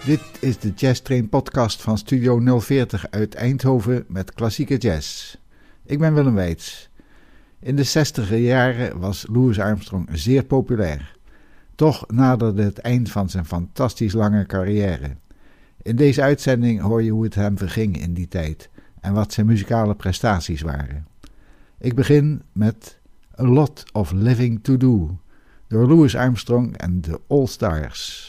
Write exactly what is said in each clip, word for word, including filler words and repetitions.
Dit is de Jazz Train podcast van Studio nul veertig uit Eindhoven met klassieke jazz. Ik ben Willem Weits. In de zestiger jaren was Louis Armstrong zeer populair. Toch naderde het eind van zijn fantastisch lange carrière. In deze uitzending hoor je hoe het hem verging in die tijd en wat zijn muzikale prestaties waren. Ik begin met A Lot of Living to Do door Louis Armstrong en de All Stars.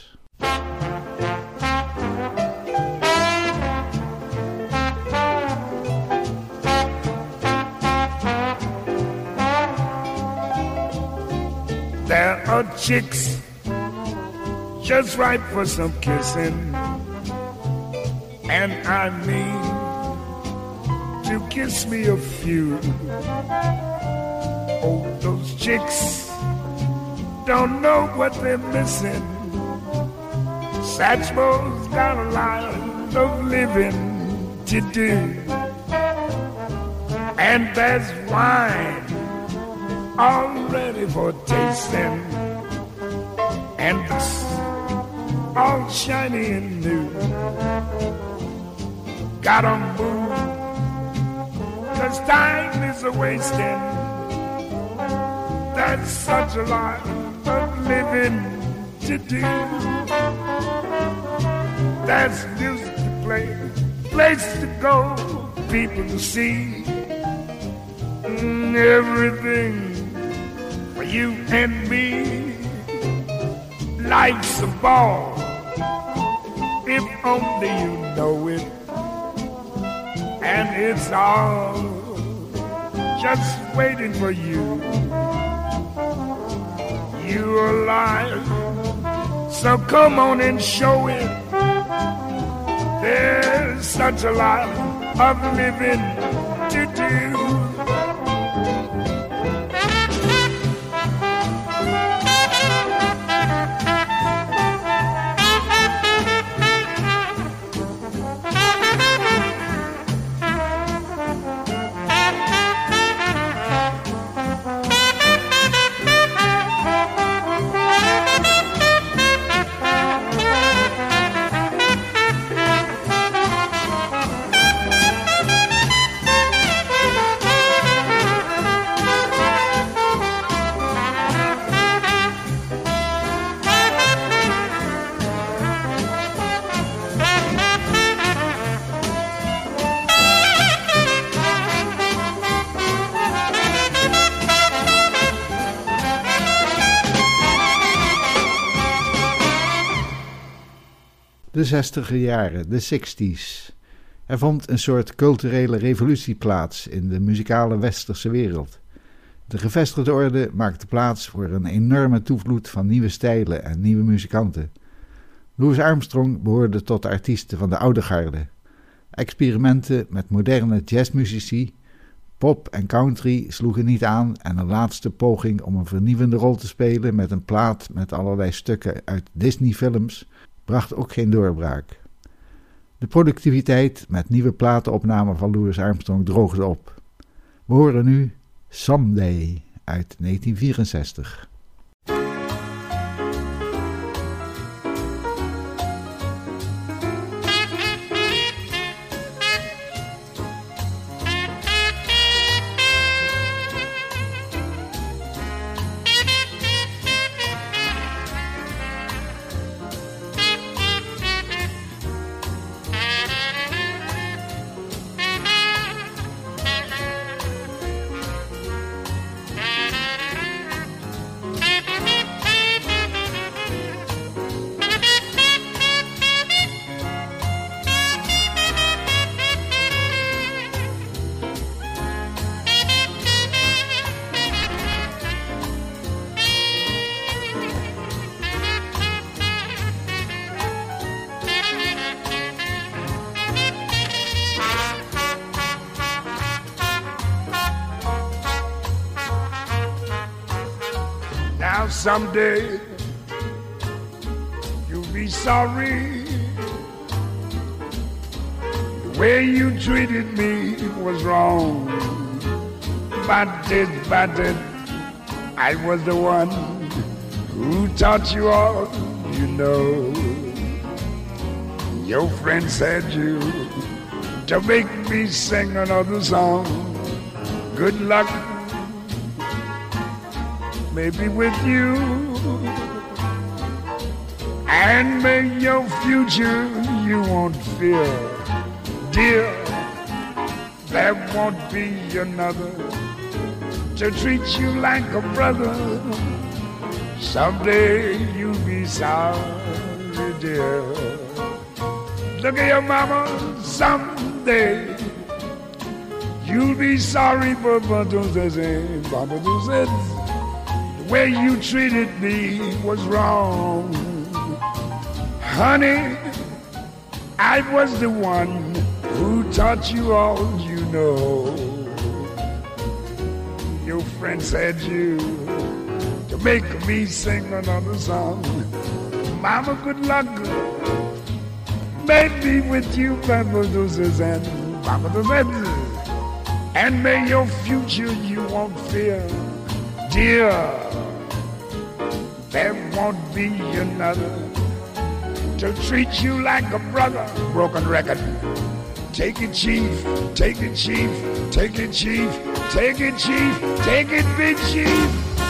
There are chicks just right for some kissing, and I mean to kiss me a few. Oh, those chicks don't know what they're missing. Satchmo's got a lot of living to do, and there's wine all ready for tasting, and it's all shiny and new. Gotta move, 'cause time is a wasting. There's such a lot of living to do. There's music to play, place to go, people to see, mm, everything for you and me. Life's a ball, if only you know it, and it's all just waiting for you. You're alive, so come on and show it. There's such a lot of living to do. De zestiger jaren, de sixties. Er vond een soort culturele revolutie plaats in de muzikale westerse wereld. De gevestigde orde maakte plaats voor een enorme toevloed van nieuwe stijlen en nieuwe muzikanten. Louis Armstrong behoorde tot de artiesten van de oude garde. Experimenten met moderne jazzmuzici, pop en country sloegen niet aan en een laatste poging om een vernieuwende rol te spelen met een plaat met allerlei stukken uit Disney-films bracht ook geen doorbraak. De productiviteit met nieuwe platenopnamen van Louis Armstrong droogde op. We horen nu Someday uit negentien vierenzestig. Now someday you'll be sorry. The way you treated me was wrong. But it, but it, I was the one who taught you all you know. Your friend said you to make me sing another song. Good luck, maybe with you, and may your future you won't fear, dear. There won't be another to treat you like a brother. Someday you'll be sorry, dear. Look at your mama, someday you'll be sorry for the way you treated me was wrong. Honey, I was the one who taught you all you know. Your friend said you to make me sing another song. Mama, good luck. Maybe with you, Papa Doses and Papa Doses. And may your future you won't fear, dear. There won't be another to treat you like a brother. Broken record. Take it, chief. Take it, chief. Take it, chief. Take it, chief. Take it, big chief.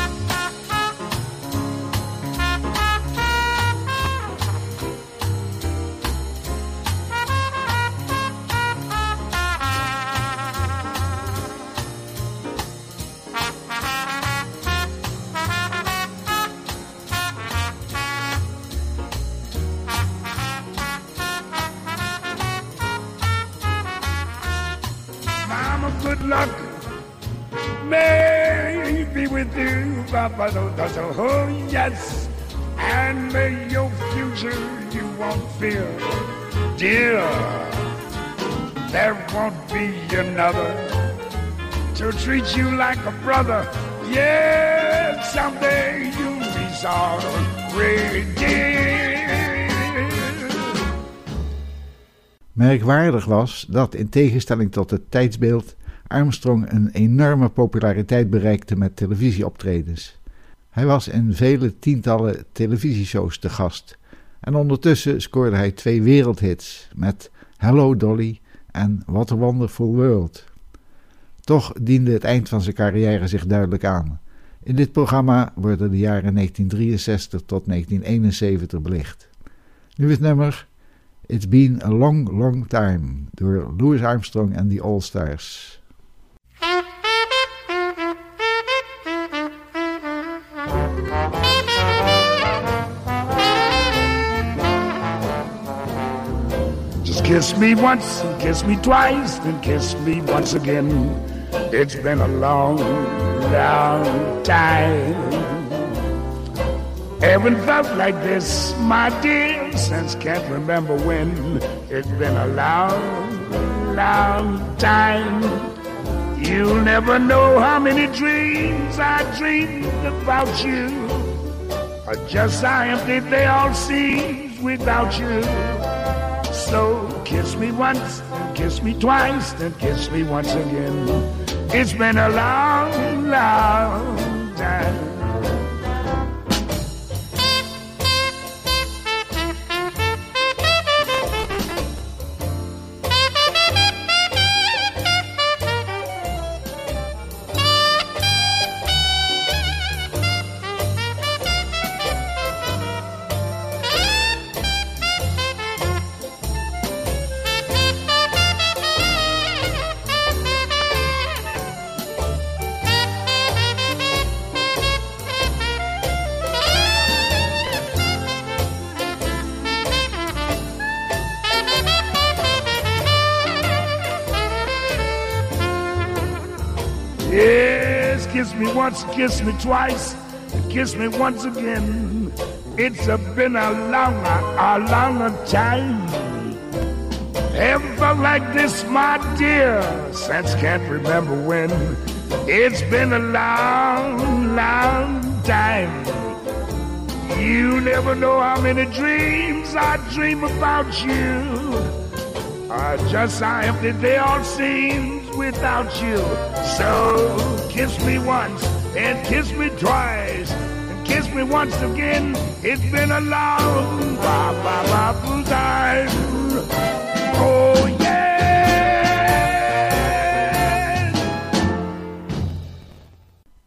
Good luck may be with you, Papa. Oh, yes. And may your future you won't fear, dear. There won't be another to treat you like a brother. Yes, someday you'll be sorry, dear. Merkwaardig was dat, in tegenstelling tot het tijdsbeeld, Armstrong een enorme populariteit bereikte met televisieoptredens. Hij was in vele tientallen televisieshows te gast en ondertussen scoorde hij twee wereldhits met Hello Dolly en What a Wonderful World. Toch diende het eind van zijn carrière zich duidelijk aan. In dit programma worden de jaren negentien drieënzestig tot negentien eenenzeventig belicht. Nu het nummer It's Been a Long, Long Time door Louis Armstrong en the All-Stars. Just kiss me once and kiss me twice and kiss me once again. It's been a long, long time. Haven't felt like this, my dear, since can't remember when. It's been a long, long time. You'll never know how many dreams I dreamed about you. Just how empty they all seem without you. So kiss me once, and kiss me twice, and kiss me once again. It's been a long, long time. Yes, kiss me once, kiss me twice, and kiss me once again. It's a been a long, a long time. Haven't felt like this, my dear, since can't remember when. It's been a long, long time. You never know how many dreams I dream about you. Uh, just how empty they all seem without you. So kiss me once and kiss me twice and kiss me once again. It's been a long, ba ba ba time.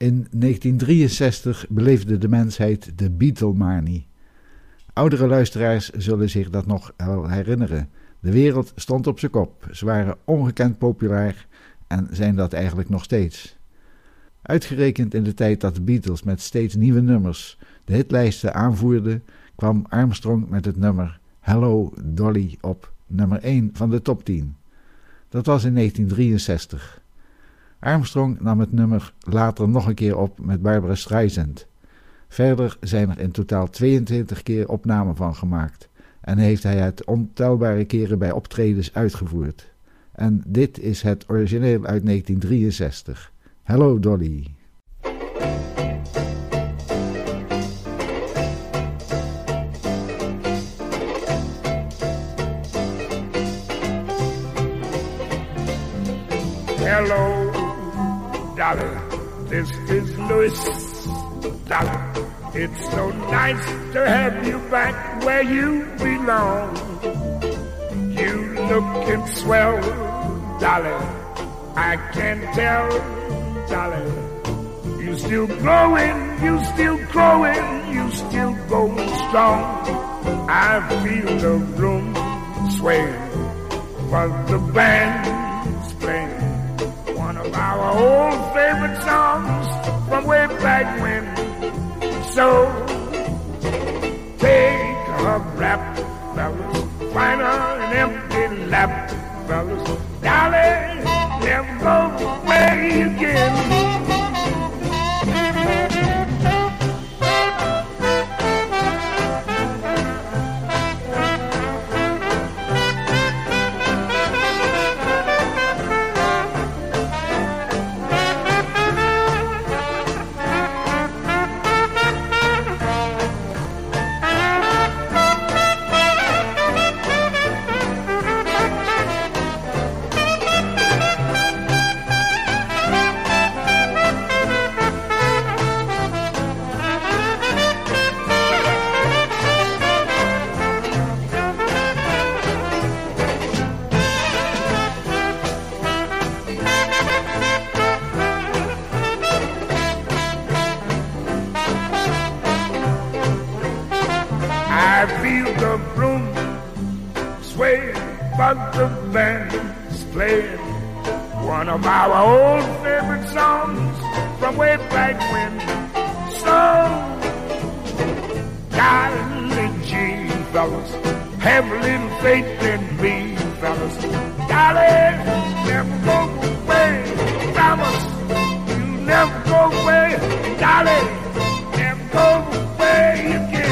In negentien drieënzestig beleefde de mensheid de Beatlemanie. Oudere luisteraars zullen zich dat nog wel herinneren. De wereld stond op zijn kop. Ze waren ongekend populair en zijn dat eigenlijk nog steeds. Uitgerekend in de tijd dat de Beatles met steeds nieuwe nummers de hitlijsten aanvoerden, kwam Armstrong met het nummer Hello Dolly op nummer één van de top tien. Dat was in negentien drieënzestig. Armstrong nam het nummer later nog een keer op met Barbra Streisand. Verder zijn er in totaal tweeëntwintig keer opnamen van gemaakt en heeft hij het ontelbare keren bij optredens uitgevoerd. En dit is het origineel uit negentien drieënzestig. Hello Dolly. Hello, Dolly, this is Louis. Dolly, it's so nice to have you back where you belong. You lookin' swell, Dolly, I can tell, Dolly. You still growing, you still growing, you still going strong. I feel the room sway while the band's playing one of our old favorite songs from way back when. So take a rap, fellas, find an empty lap, fellas. Dolly, never go away again. I feel the room sway, but the band's playing one of our old favorite songs from way back when. So, golly gee, fellas, have a little faith in me, fellas. Golly, never go away, promise you never go away. Golly, never go away again.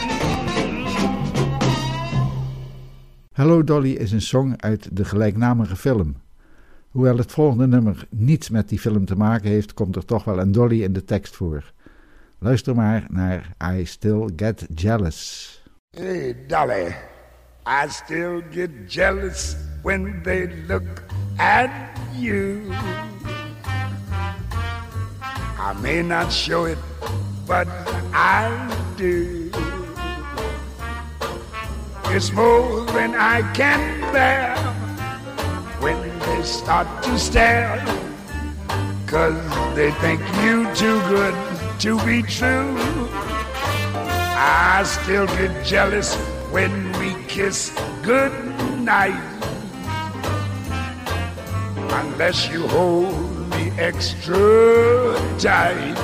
Hello Dolly is een song uit de gelijknamige film. Hoewel het volgende nummer niets met die film te maken heeft, komt er toch wel een Dolly in de tekst voor. Luister maar naar I Still Get Jealous. Hey Dolly, I still get jealous when they look at you. I may not show it, but I do. It's more than I can bear when they start to stare, 'cause they think you too good to be true. I still get jealous when we kiss goodnight, unless you hold me extra tight.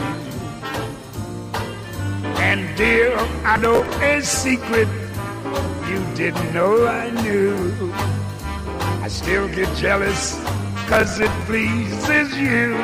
And dear, I know a secret you didn't know I knew. I still get jealous 'cause it pleases you.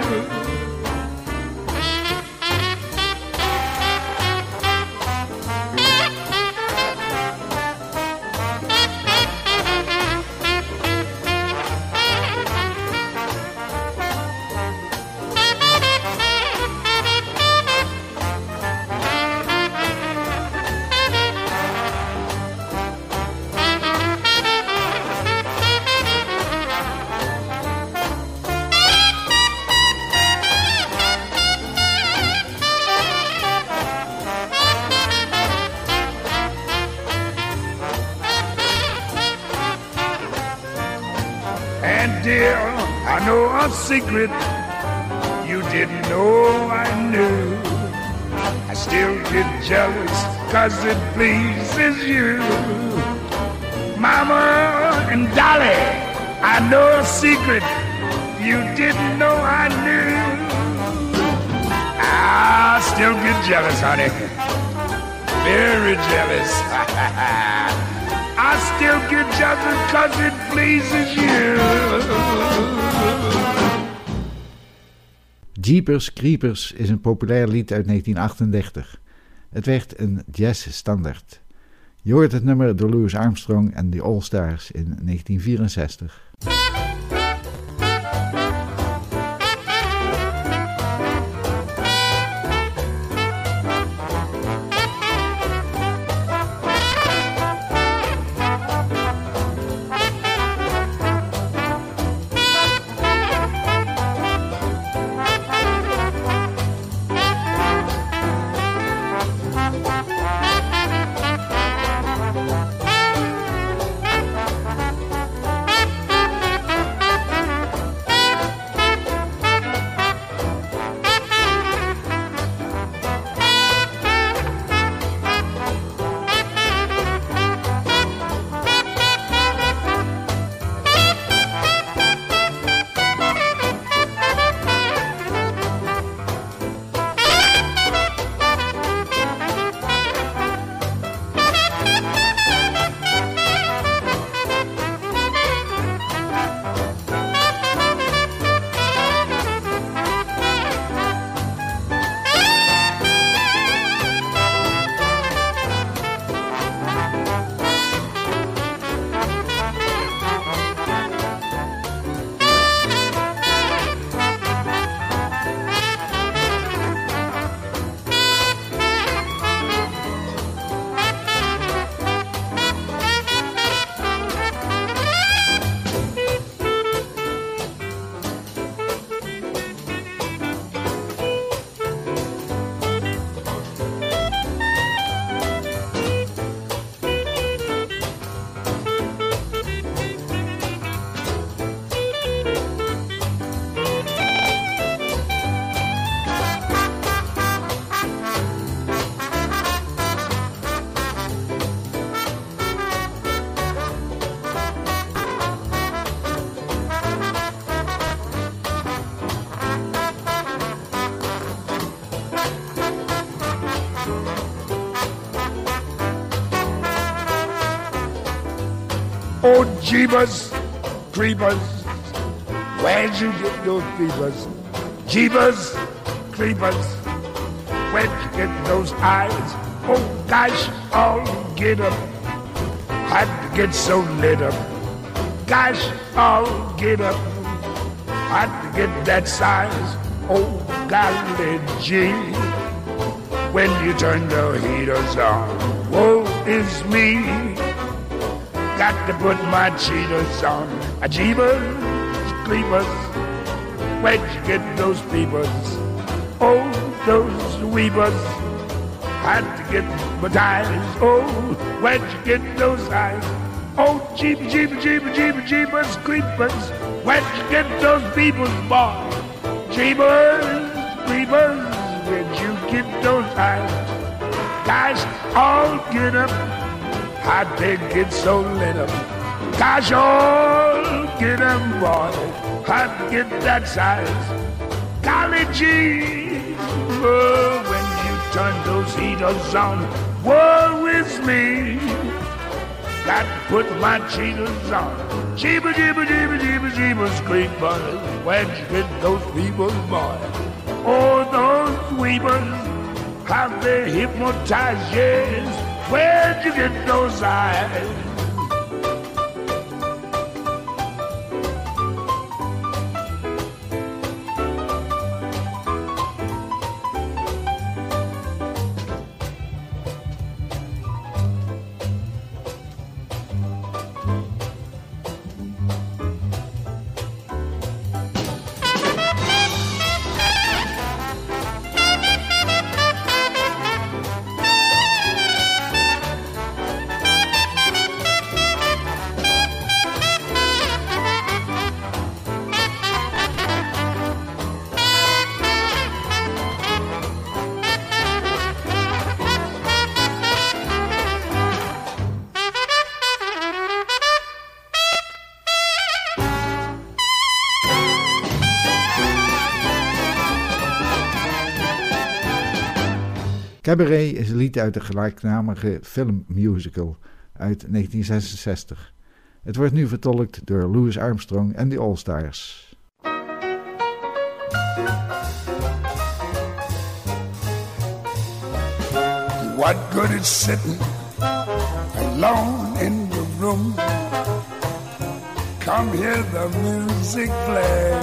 And dear, I know a secret you didn't know I knew. I still get jealous cause it pleases you. Mama and Dolly, I know a secret you didn't know I knew. I still get jealous, honey. Very jealous. I still get jealous cause it pleases you. Jeepers Creepers is een populair lied uit negentien achtendertig. Het werd een jazzstandaard. Je hoort het nummer door Louis Armstrong en de All Stars in negentien vierenzestig. Oh, Jeebus Creepers, where'd you get those peepers? Jeebus Creepers, where'd you get those eyes? Oh, gosh, all get up. How'd you get so lit up? Gosh, all get up. How'd you get that size? Oh, golly gee, when you turn the heaters on, woe is me. Got to put my cheaters on. A Jeebus Creepers, where'd you get those peepers? Oh, those weepers. Had to get my ties. Oh, where'd you get those eyes? Oh, Jeeb, Jeeb, Jeeb, Jeeb, Jeebus Creepers, where'd you get those peoples, boy? Jeebus Creepers, where'd you get those eyes? Guys, all get up. How'd they get so lit up? Gosh, all get up, boy. How'd they get that size? Golly gee, oh, when you turn those heaters on, woe is me. Got to put my cheaters on. Jeeba, jeeba, jeeba, jeeba, jeebus creepers, where'd you get those people, boy? Oh, those weepers, how they hypnotize, yes. Where'd you get those eyes? Cabaret is een lied uit de gelijknamige filmmusical uit negentien zesenzestig. Het wordt nu vertolkt door Louis Armstrong en de All-Stars. What good is sitting alone in the room? Come hear the music play.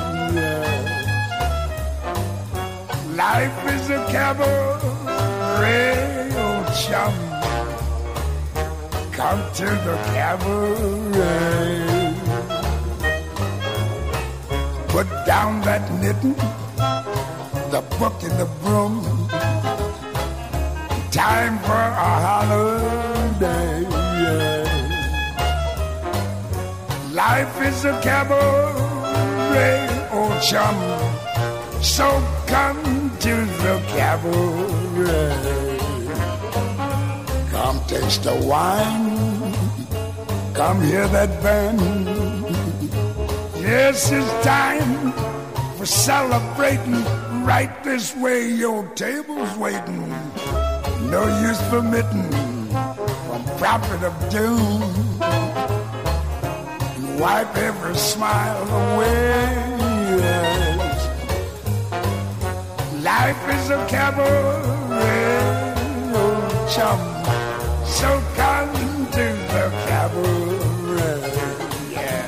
Life is a cabaret, oh chum. Come to the cabaret. Put down that knitting, the book and the broom. Time for a holiday, yeah. Life is a cabaret, oh chum. So come to the cabaret. Come taste the wine. Come hear that band. Yes, it's time for celebrating. Right this way, your table's waiting. No use permitting from prophet of doom. And wipe every smile away. Yes. Life is a cabaret, oh chum. So come to the cabaret, yeah.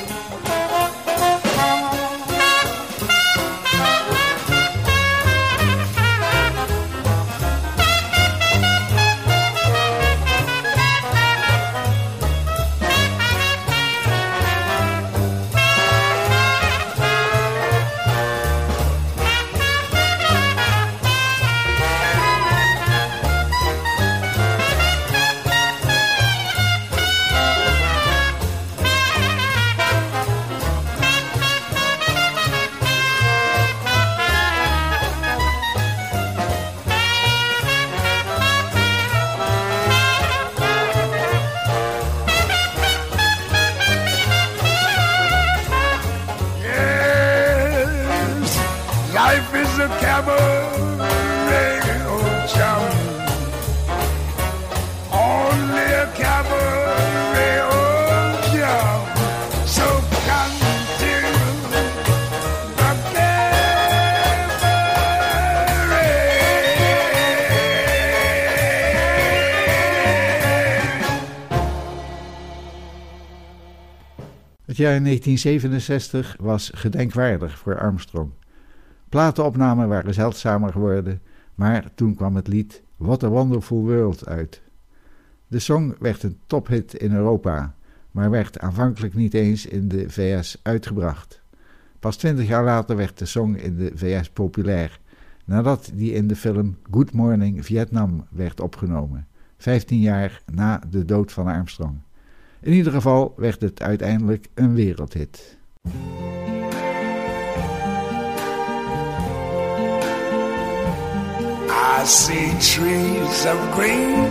Het jaar negentien zevenenzestig was gedenkwaardig voor Armstrong. Platenopnamen waren zeldzamer geworden, maar toen kwam het lied What a Wonderful World uit. De song werd een tophit in Europa, maar werd aanvankelijk niet eens in de V S uitgebracht. Pas twintig jaar later werd de song in de V S populair, nadat die in de film Good Morning Vietnam werd opgenomen, vijftien jaar na de dood van Armstrong. In ieder geval werd het uiteindelijk een wereldhit. I see trees of green,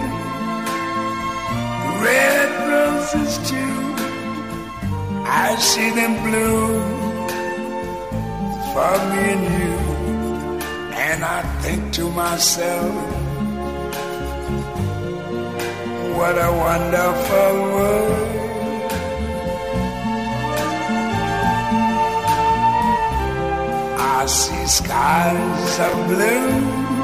red roses too. I see them bloom for me and you. And I think to myself, what a wonderful world. I see skies of blue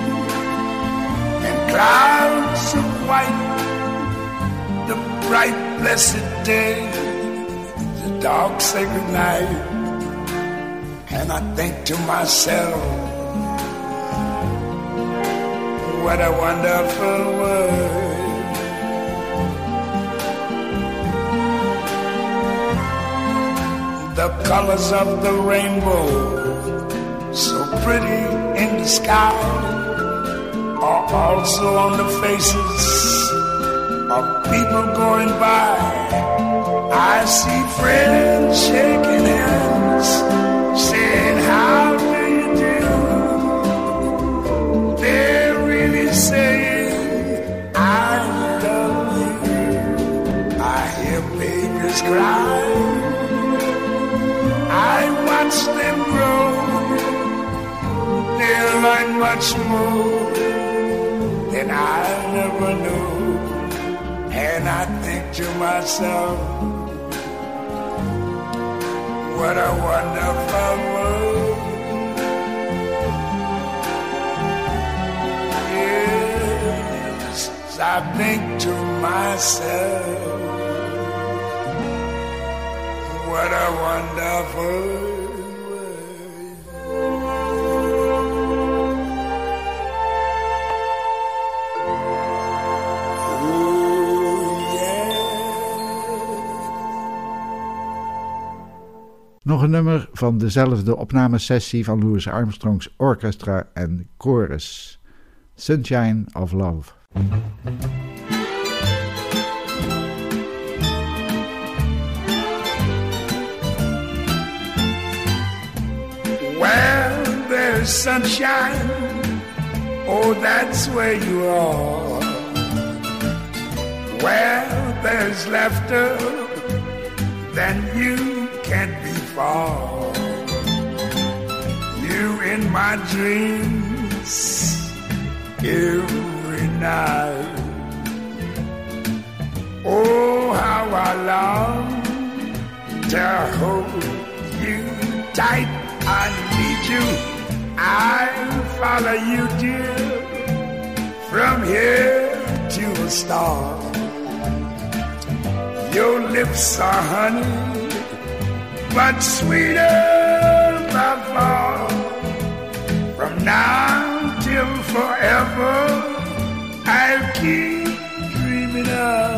and clouds of white, the bright blessed day, the dark sacred night. And I think to myself, what a wonderful world. The colors of the rainbow, so pretty in the sky, are also on the faces of people going by. I see friends shaking hands, saying, how do you do? They're really saying, I love you. I hear babies cry, I watch them grow. They'll learn much more than I never knew. And I think to myself, what a wonderful world. Yes, I think to myself, what a wonderful world. Nog een nummer van dezelfde opnamesessie van Louis Armstrong's Orchestra en Chorus, Sunshine of Love. Well, there's sunshine, oh, that's where you are. Well, there's laughter, then you can't be far. You in my dreams every night. Oh, how I long to hold you tight. I need you, I follow you, dear, from here to a star. Your lips are honey, but sweeter by far. From now till forever, I'll keep dreaming of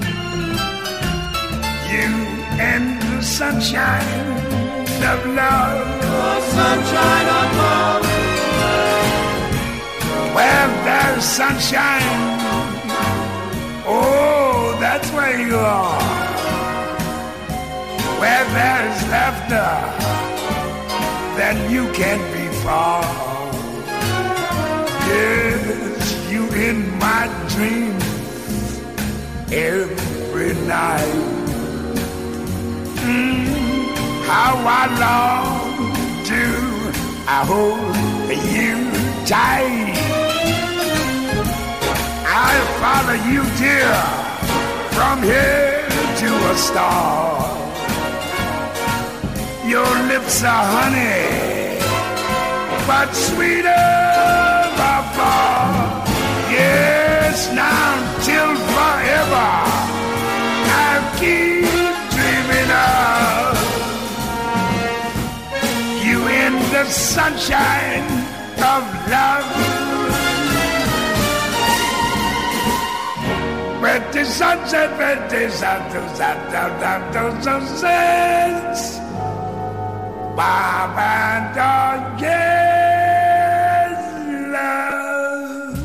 you and the sunshine of love. Oh, sunshine of love. Well, there's sunshine, oh, that's where you are. Where there's laughter, then you can't be far. Yes, you in my dreams every night. Mm, how I long to I hold you tight. I'll follow you, dear, from here to a star. Your lips are honey, but sweeter by far. Yes, now till forever, I'll keep dreaming of you in the sunshine of love. But the sunset, but the sunset, Baba don't get love.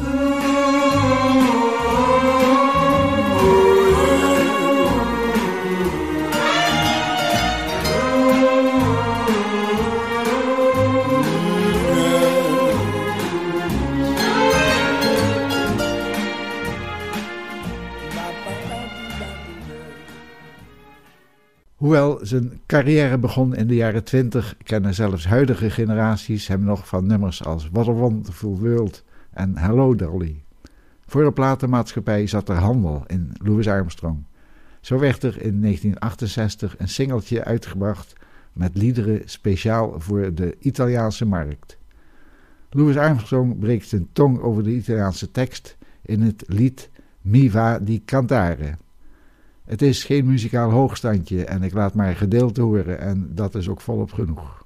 Hoewel zijn carrière begon in de jaren twintig, kennen zelfs huidige generaties hem nog van nummers als What a Wonderful World en Hello Dolly. Voor de platenmaatschappij zat er handel in Louis Armstrong. Zo werd er in negentien achtenzestig een singeltje uitgebracht met liederen speciaal voor de Italiaanse markt. Louis Armstrong breekt zijn tong over de Italiaanse tekst in het lied Mi va di cantare. Het is geen muzikaal hoogstandje en ik laat maar een gedeelte horen en dat is ook volop genoeg.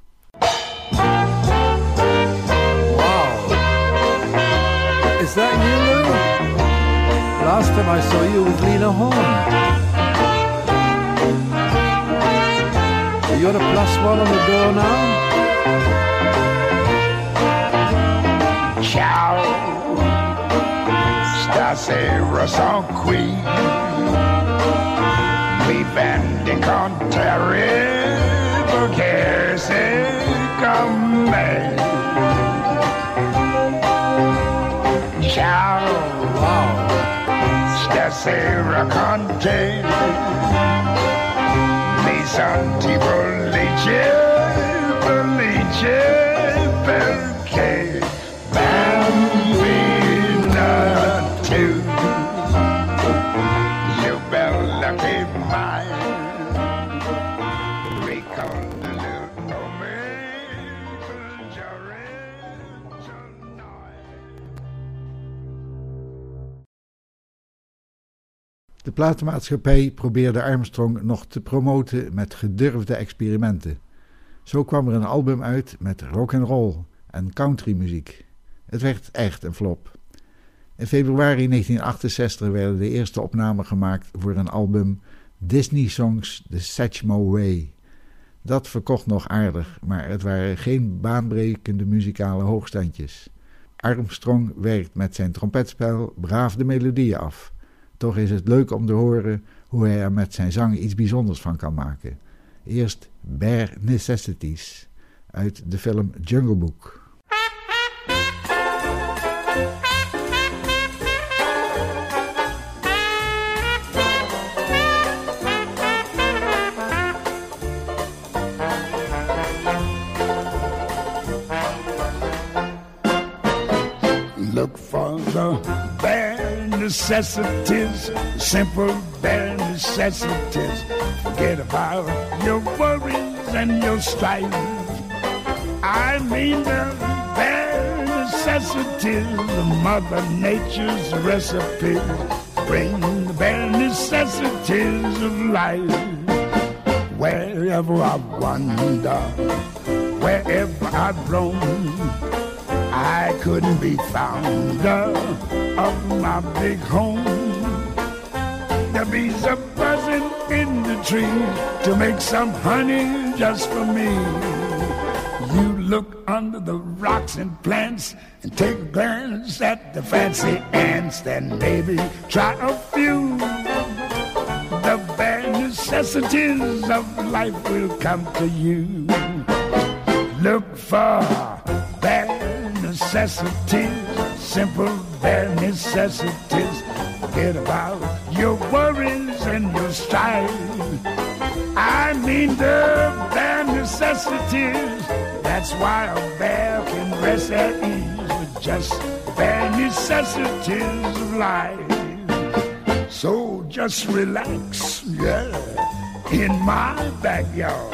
Wow. Is that you, Lou? Last time I saw you was Lena Horne. You're the plus one on the door now? Ciao, stasera son qui. Mi vendicontare perché sei con me. Ciao, Wow. stasera con te. Mi senti felice, felice perché bambina De platenmaatschappij probeerde Armstrong nog te promoten met gedurfde experimenten. Zo kwam er een album uit met rock'n'roll en countrymuziek. Het werd echt een flop. In februari negentien achtenzestig werden de eerste opnamen gemaakt voor een album Disney Songs The Satchmo Way. Dat verkocht nog aardig, maar het waren geen baanbrekende muzikale hoogstandjes. Armstrong werkt met zijn trompetspel braaf de melodieën af. Toch is het leuk om te horen hoe hij er met zijn zang iets bijzonders van kan maken. Eerst Bare Necessities uit de film Jungle Book. Look for the bare necessities, simple bare necessities. Forget about your worries and your strife. I mean the bare necessities, Mother Nature's recipes. Bring the bare necessities of life. Wherever I wander, wherever I roam, I couldn't be founder of my big home. The bees are buzzing in the tree to make some honey just for me. You look under the rocks and plants and take a glance at the fancy ants, then maybe try a few. The bare necessities of life will come to you. Look for bare necessities, simple bare necessities. Forget about your worries and your strife. I mean the bare necessities. That's why a bear can rest at ease with just bare necessities of life. So just relax, yeah, in my backyard.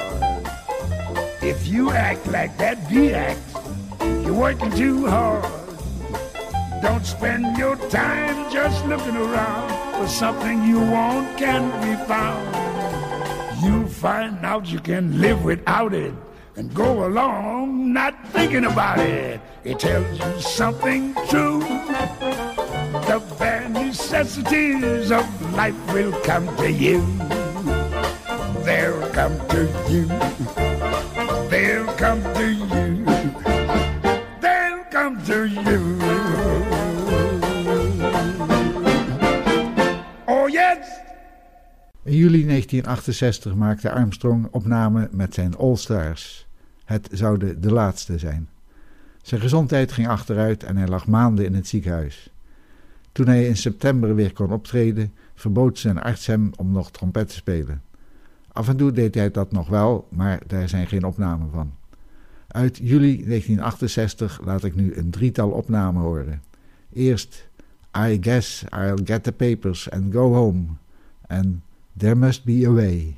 If you act like that bee act, you're working too hard. Don't spend your time just looking around for something you want can't be found. You find out you can live without it and go along not thinking about it. It tells you something true. The bare necessities of life will come to you. They'll come to you. They'll come to you. They'll come to you. Oh yes! In juli negentien achtenzestig maakte Armstrong opname met zijn All Stars. Het zouden de laatste zijn. Zijn gezondheid ging achteruit en hij lag maanden in het ziekenhuis. Toen hij in september weer kon optreden, verbood zijn arts hem om nog trompet te spelen. Af en toe deed hij dat nog wel, maar daar zijn geen opnamen van. Uit juli negentien achtenzestig laat ik nu een drietal opnamen horen. Eerst I Guess I'll Get the Papers and Go Home en There Must Be a Way.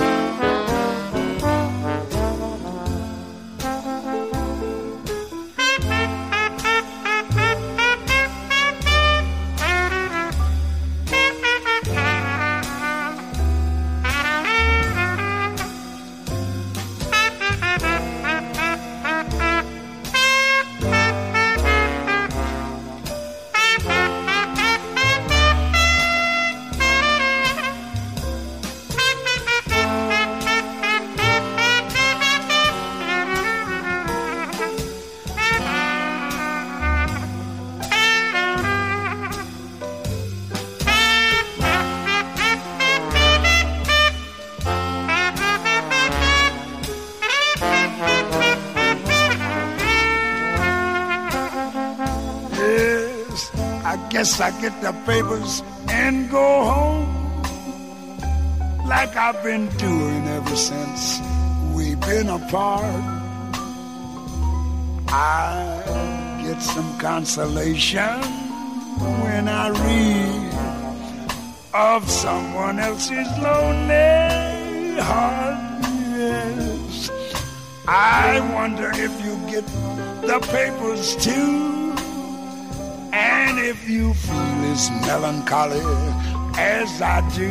Guess I get the papers and go home, like I've been doing ever since we've been apart. I get some consolation when I read of someone else's lonely heart. Yes, I wonder if you get the papers too. And if you feel this melancholy as I do,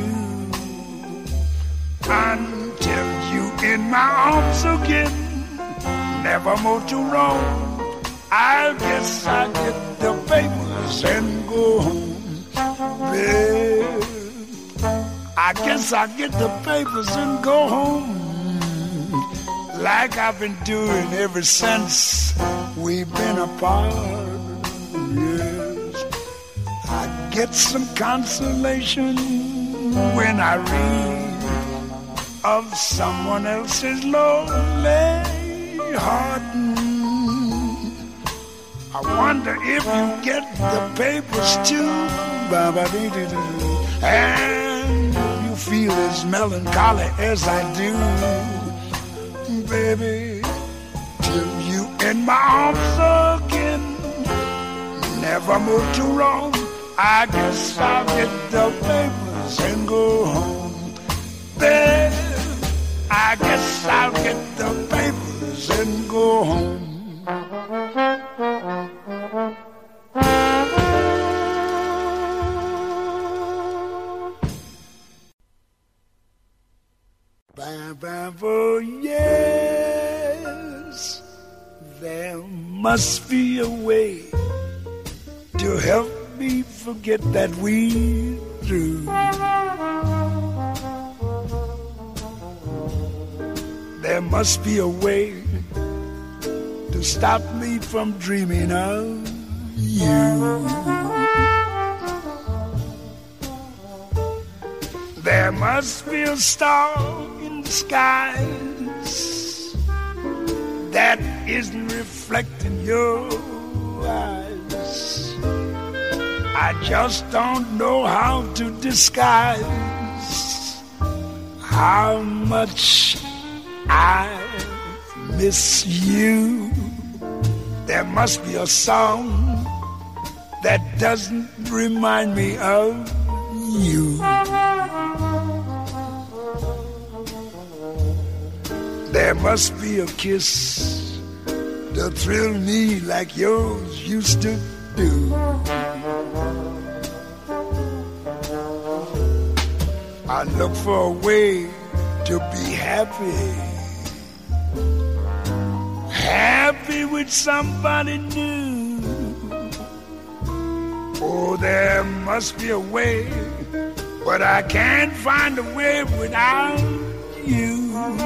until you in my arms again, never more to roam. I guess I get the papers and go home, babe. I guess I get the papers and go home, like I've been doing ever since we've been apart. Yes, I get some consolation when I read of someone else's lonely heart. I wonder if you get the papers too, and if you feel as melancholy as I do, baby, till you in my arms again, never move too wrong. I guess I'll get the papers and go home, babe. I guess I'll get the papers and go home. Oh, yes, there must be a way to help me forget that we through. There must be a way to stop me from dreaming of you. There must be a star in the skies that isn't reflecting your eyes. I just don't know how to disguise how much I miss you. There must be a song that doesn't remind me of you. There must be a kiss to thrill me like yours used to do. I look for a way to be happy, happy with somebody new. Oh, there must be a way, but I can't find a way without you.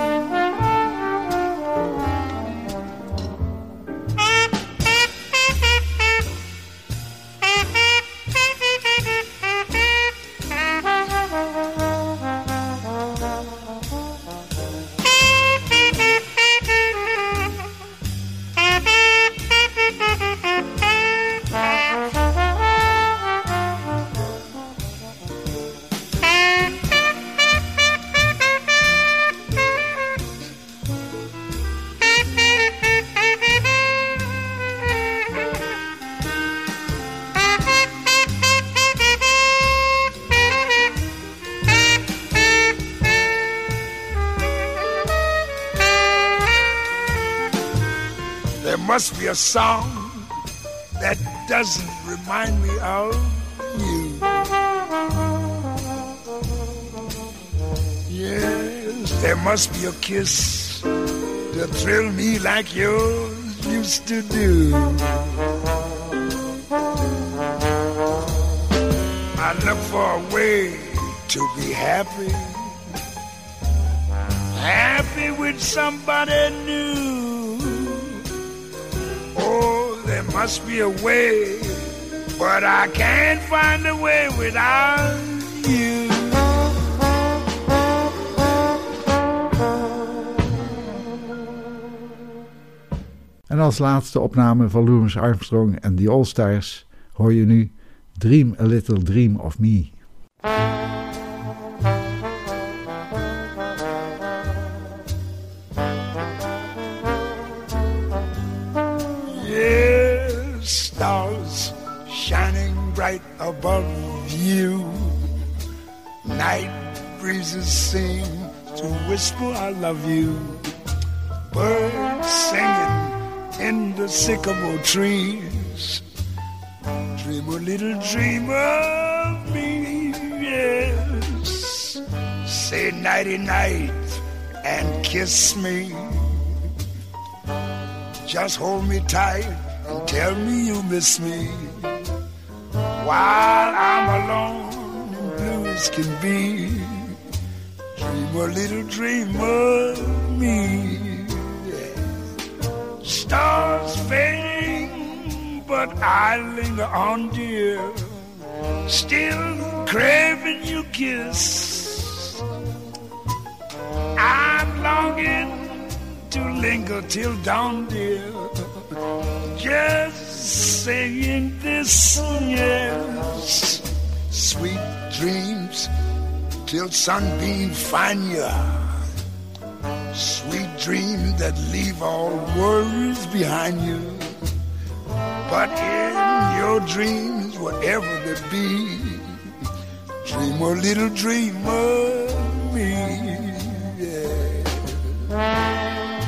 Must be a song that doesn't remind me of you. Yes, there must be a kiss to thrill me like yours used to do. I look for a way to be happy, happy with somebody new. Oh, there must be a way, but I can't find a way without you. En als laatste opname van Louis Armstrong en The All-Stars hoor je nu Dream a Little Dream of Me. Stars shining bright above you. Night breezes seem to whisper I love you. Birds singing in the sycamore trees. Dream a little dream of me, yeah. say nighty-night and kiss me. Just hold me tight and tell me you miss me. While I'm alone and blue as can be, dream a little dream of me. Stars fading, but I linger on, dear, still craving your kiss. I'm longing to linger till dawn, dear, just saying this, yes. Sweet dreams till sunbeam find ya. Sweet dreams that leave all worries behind you. But in your dreams, whatever they be, dream a little dream of me, yeah.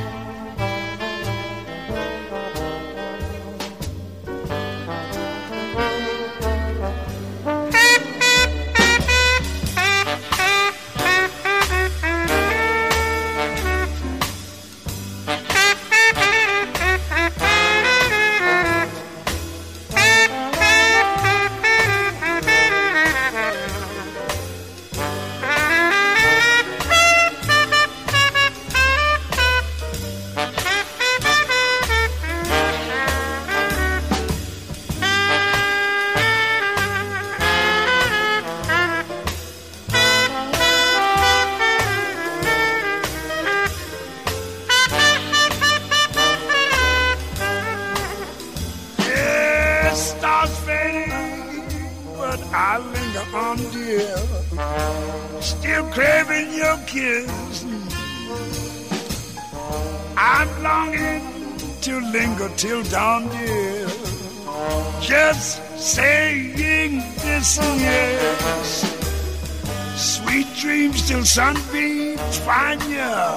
Till dawn, dear, just saying this, yes. Sweet dreams till sunbeams find ya.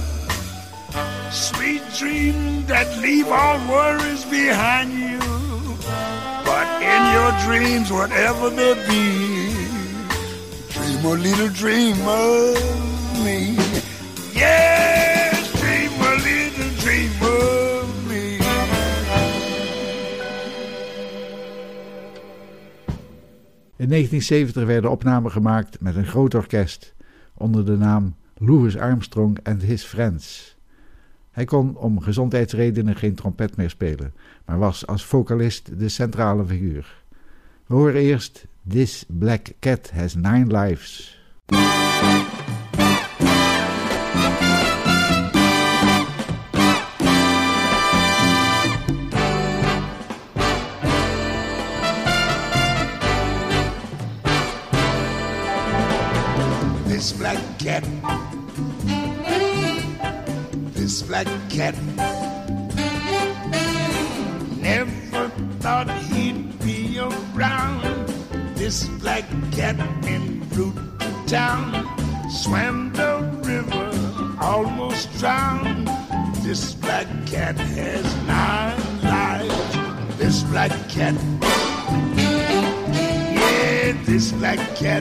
Sweet dreams that leave all worries behind you. But in your dreams, whatever they be, dream a little dream of me. Yes, dream a little dream of me. In negentien zeventig werden opnamen gemaakt met een groot orkest onder de naam Louis Armstrong and His Friends. Hij kon om gezondheidsredenen geen trompet meer spelen, maar was als vocalist de centrale figuur. We horen eerst This Black Cat Has Nine Lives. This black cat, this black cat, never thought he'd be around. This black cat in Fruit Town, swam the river, almost drowned. This black cat has nine lives. This black cat, yeah, this black cat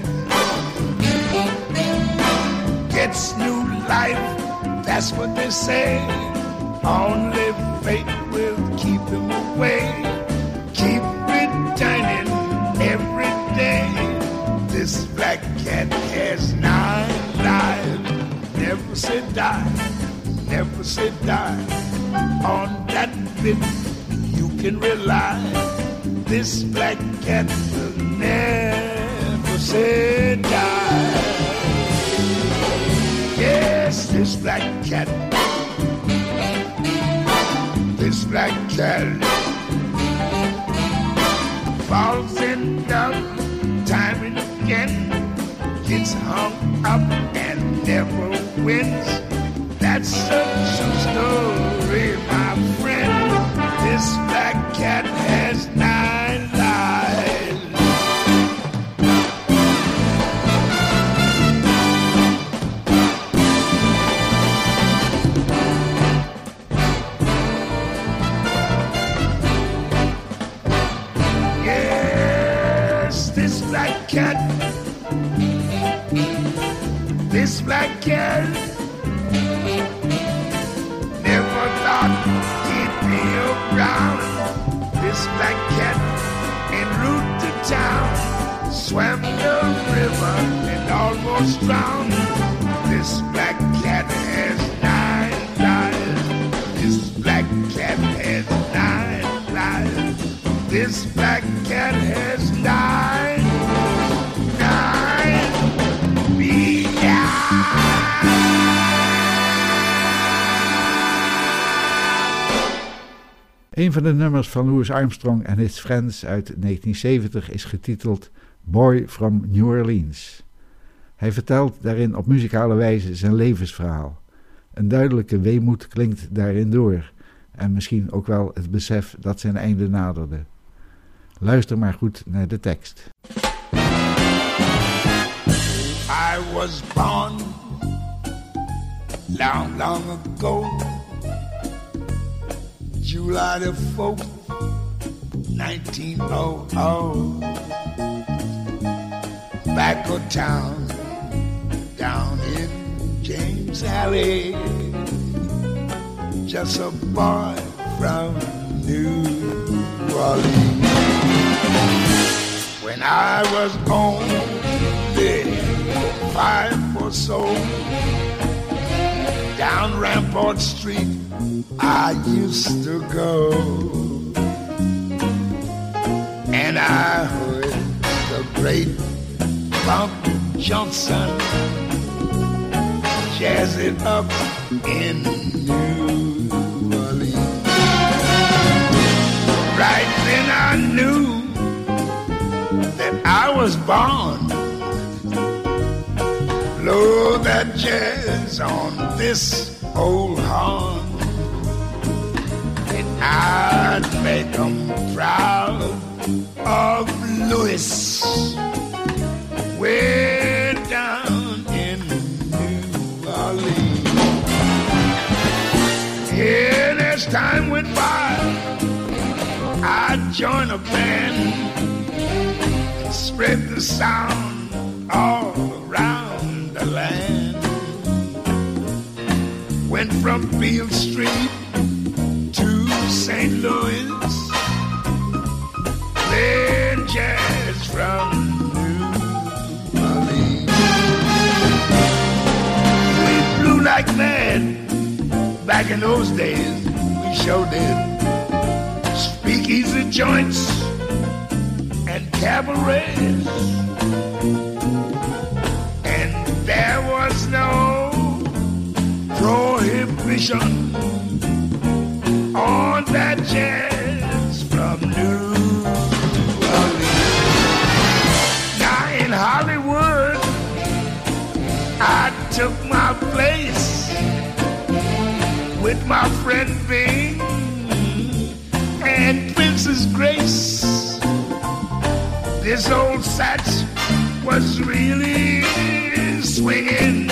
gets new life, that's what they say. Only fate will keep him away. Keep returning every day. This black cat has nine lives. Never say die, never say die. On that bit you can rely. This black cat will never say die. Yes, this black cat, this black cat falls in love time and again, gets hung up and never wins. That's a true story, my friend. This black cat has nine lives. Cat, this was drowned. This black cat has nine lives. This black cat has nine lives. This black cat has nine, nine lives. Een van de nummers van Louis Armstrong en His Friends uit negentien zeventig is getiteld Boy from New Orleans. Hij vertelt daarin op muzikale wijze zijn levensverhaal. Een duidelijke weemoed klinkt daarin door en misschien ook wel het besef dat zijn einde naderde. Luister maar goed naar de tekst. I was born long, long ago, July the fourth, nineteen hundred. Back of town, down in James Alley, just a boy from New Orleans. When I was only five or so, down Rampart Street I used to go, and I heard the great Bump Johnson jazz it up in New Orleans. Right then I knew that I was born. Blow that jazz on this old horn, and I'd make them proud of Louis, way down in New Orleans. And as time went by, I'd join a band and spread the sound all around the land. Went from Beale Street to Saint Louis, playing jazz from New Orleans. We blew like mad back in those days, we sure did. Speakeasy joints and cabarets, and there was no prohibition on that jazz from New Orleans. Now in Hollywood, I took my place with my friend Bing and Princess Grace. This old sax was really swinging,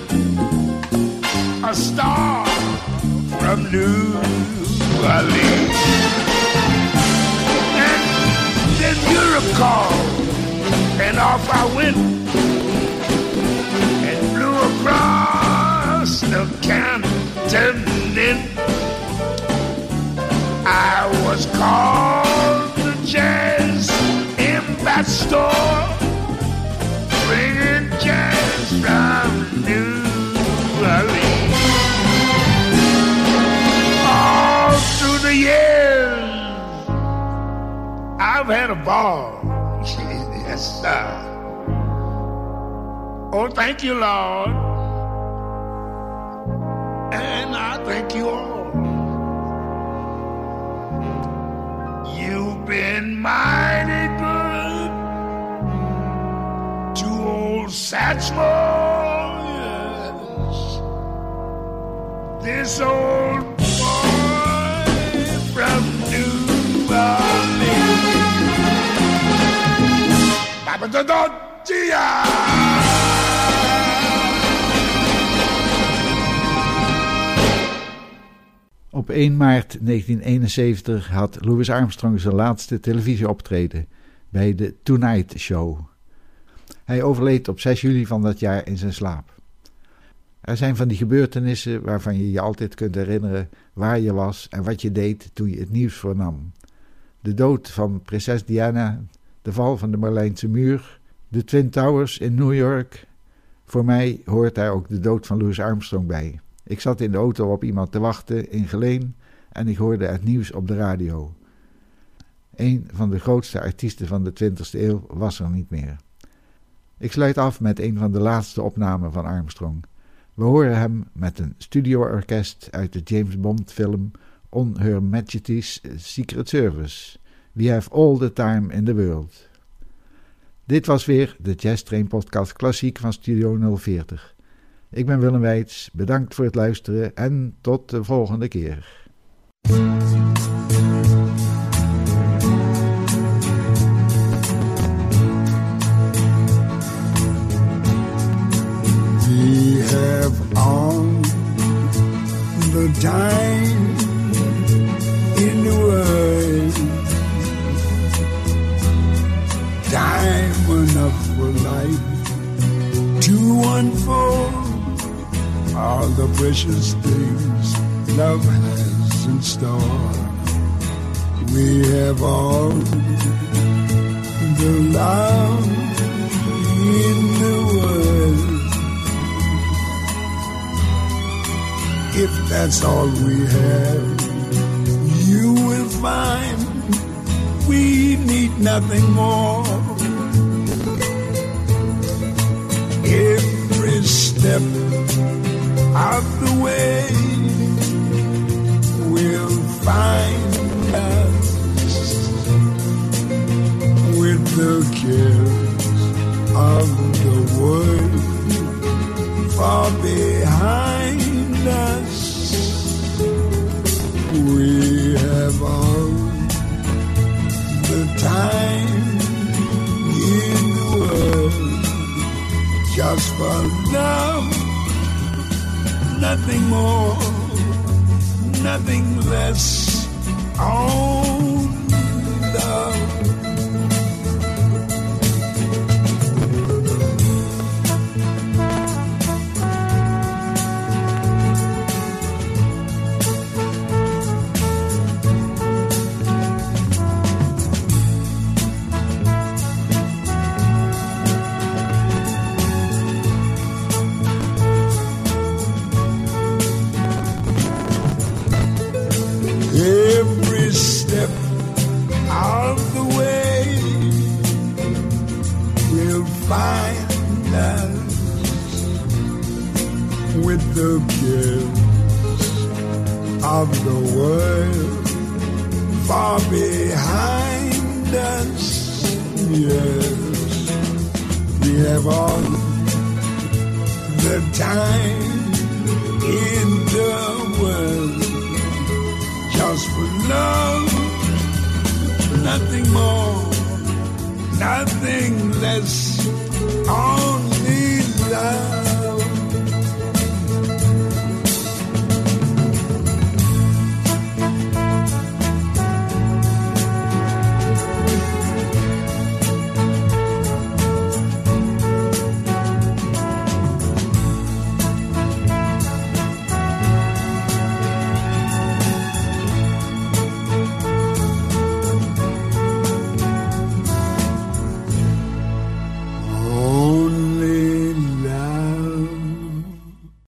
a star from New Orleans. And then Europe called, and off I went and flew across the continent. I was called the Jazz Ambassador, bringing jazz from New Orleans. All through the years, I've had a ball. Yes, sir. Oh, thank you, Lord. And I thank you all. You've been mighty good to old Satchmo, yes. This old boy from New Orleans. Babadodontia! Op één maart negentien eenenzeventig had Louis Armstrong zijn laatste televisieoptreden bij de Tonight Show. Hij overleed op zes juli van dat jaar in zijn slaap. Er zijn van die gebeurtenissen waarvan je je altijd kunt herinneren waar je was en wat je deed toen je het nieuws vernam. De dood van prinses Diana, de val van de Berlijnse muur, de Twin Towers in New York, Voor mij hoort daar ook de dood van Louis Armstrong bij. Ik zat in de auto op iemand te wachten in Geleen en ik hoorde het nieuws op de radio. Een van de grootste artiesten van de twintigste eeuw was er niet meer. Ik sluit af met een van de laatste opnamen van Armstrong. We horen hem met een studioorkest uit de James Bond film On Her Majesty's Secret Service. We have all the time in the world. Dit was weer de Jazz Train Podcast Klassiek van Studio nul veertig. Ik ben Willem Weits, bedankt voor het luisteren en tot de volgende keer. We have all the time in the world, time enough for life to unfold all the precious things love has in store. We have all the love in the world. If that's all we have, you will find we need nothing more. Every step of the way will find us with the cares of the world far behind us. We have all the time in the world just for love, nothing more, nothing less. Oh, love. Every step of the way will find us with the cares of the world far behind us. Yes, we have all the time in the world just for love, nothing more, nothing less, only love.